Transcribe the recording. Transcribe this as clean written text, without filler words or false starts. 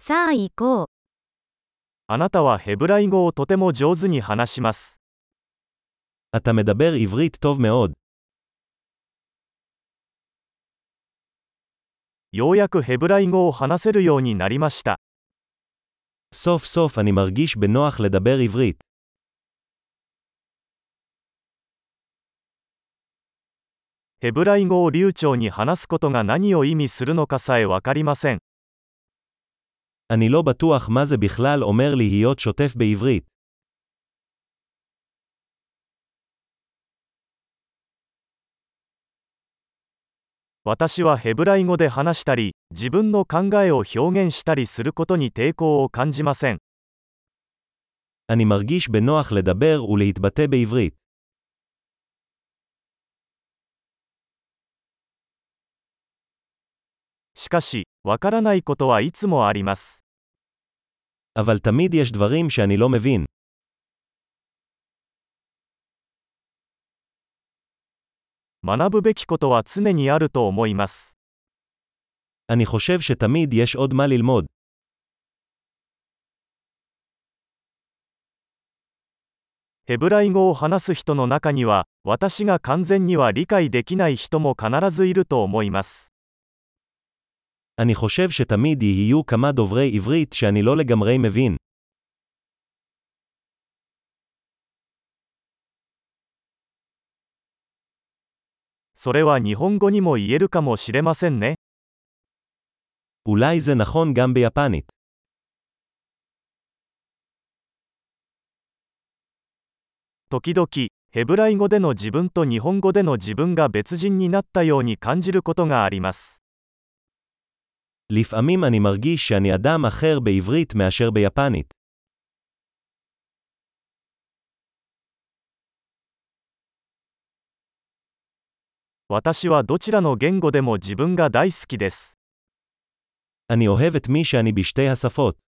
さあ行こう。 あなたはヘブライ語をとても上手に話します。 אתה מדבר עברית טוב מאוד. ようやくヘブライ語を話せるようになりました。 סוף סוף אני מרגיש בנוח לדבר עברית. ヘブライ語を流暢に話すことが何を意味するのかさえわかりません。 אני לא בטוח מה זה בכלל אומר להיות שוטף בעברית. 私はヘブライ語で話したり、自分の考えを表現したりすることに抵抗を感じません。 אני מרגיש בנוח לדבר ולהתבטא בעברית. しかし、わからないことはいつもあります。 אבל תמיד יש דברים שאני לא מבין. 学ぶべきことは常にあると思います。 אני חושב שתמיד יש עוד מה ללמוד. ヘブライ語を話す人の中には、私が完全には理解できない人も必ずいると思います。 אני חושב שתמיד יהיו כמה דוברי עברית שאני לא לגמרי מבין. それは日本語にも言えるかもしれませんね。 אולי זה נכון גם ביפנית. 時々、ヘブライ語での自分と日本語での自分が別人になったように感じることがあります。 לפעמים אני מרגיש שאני אדם אחר בעברית מאשר ביפנית. 私はどちらの言語でも自分が大好きです。 אני אוהב את מי שאני בשתי השפות.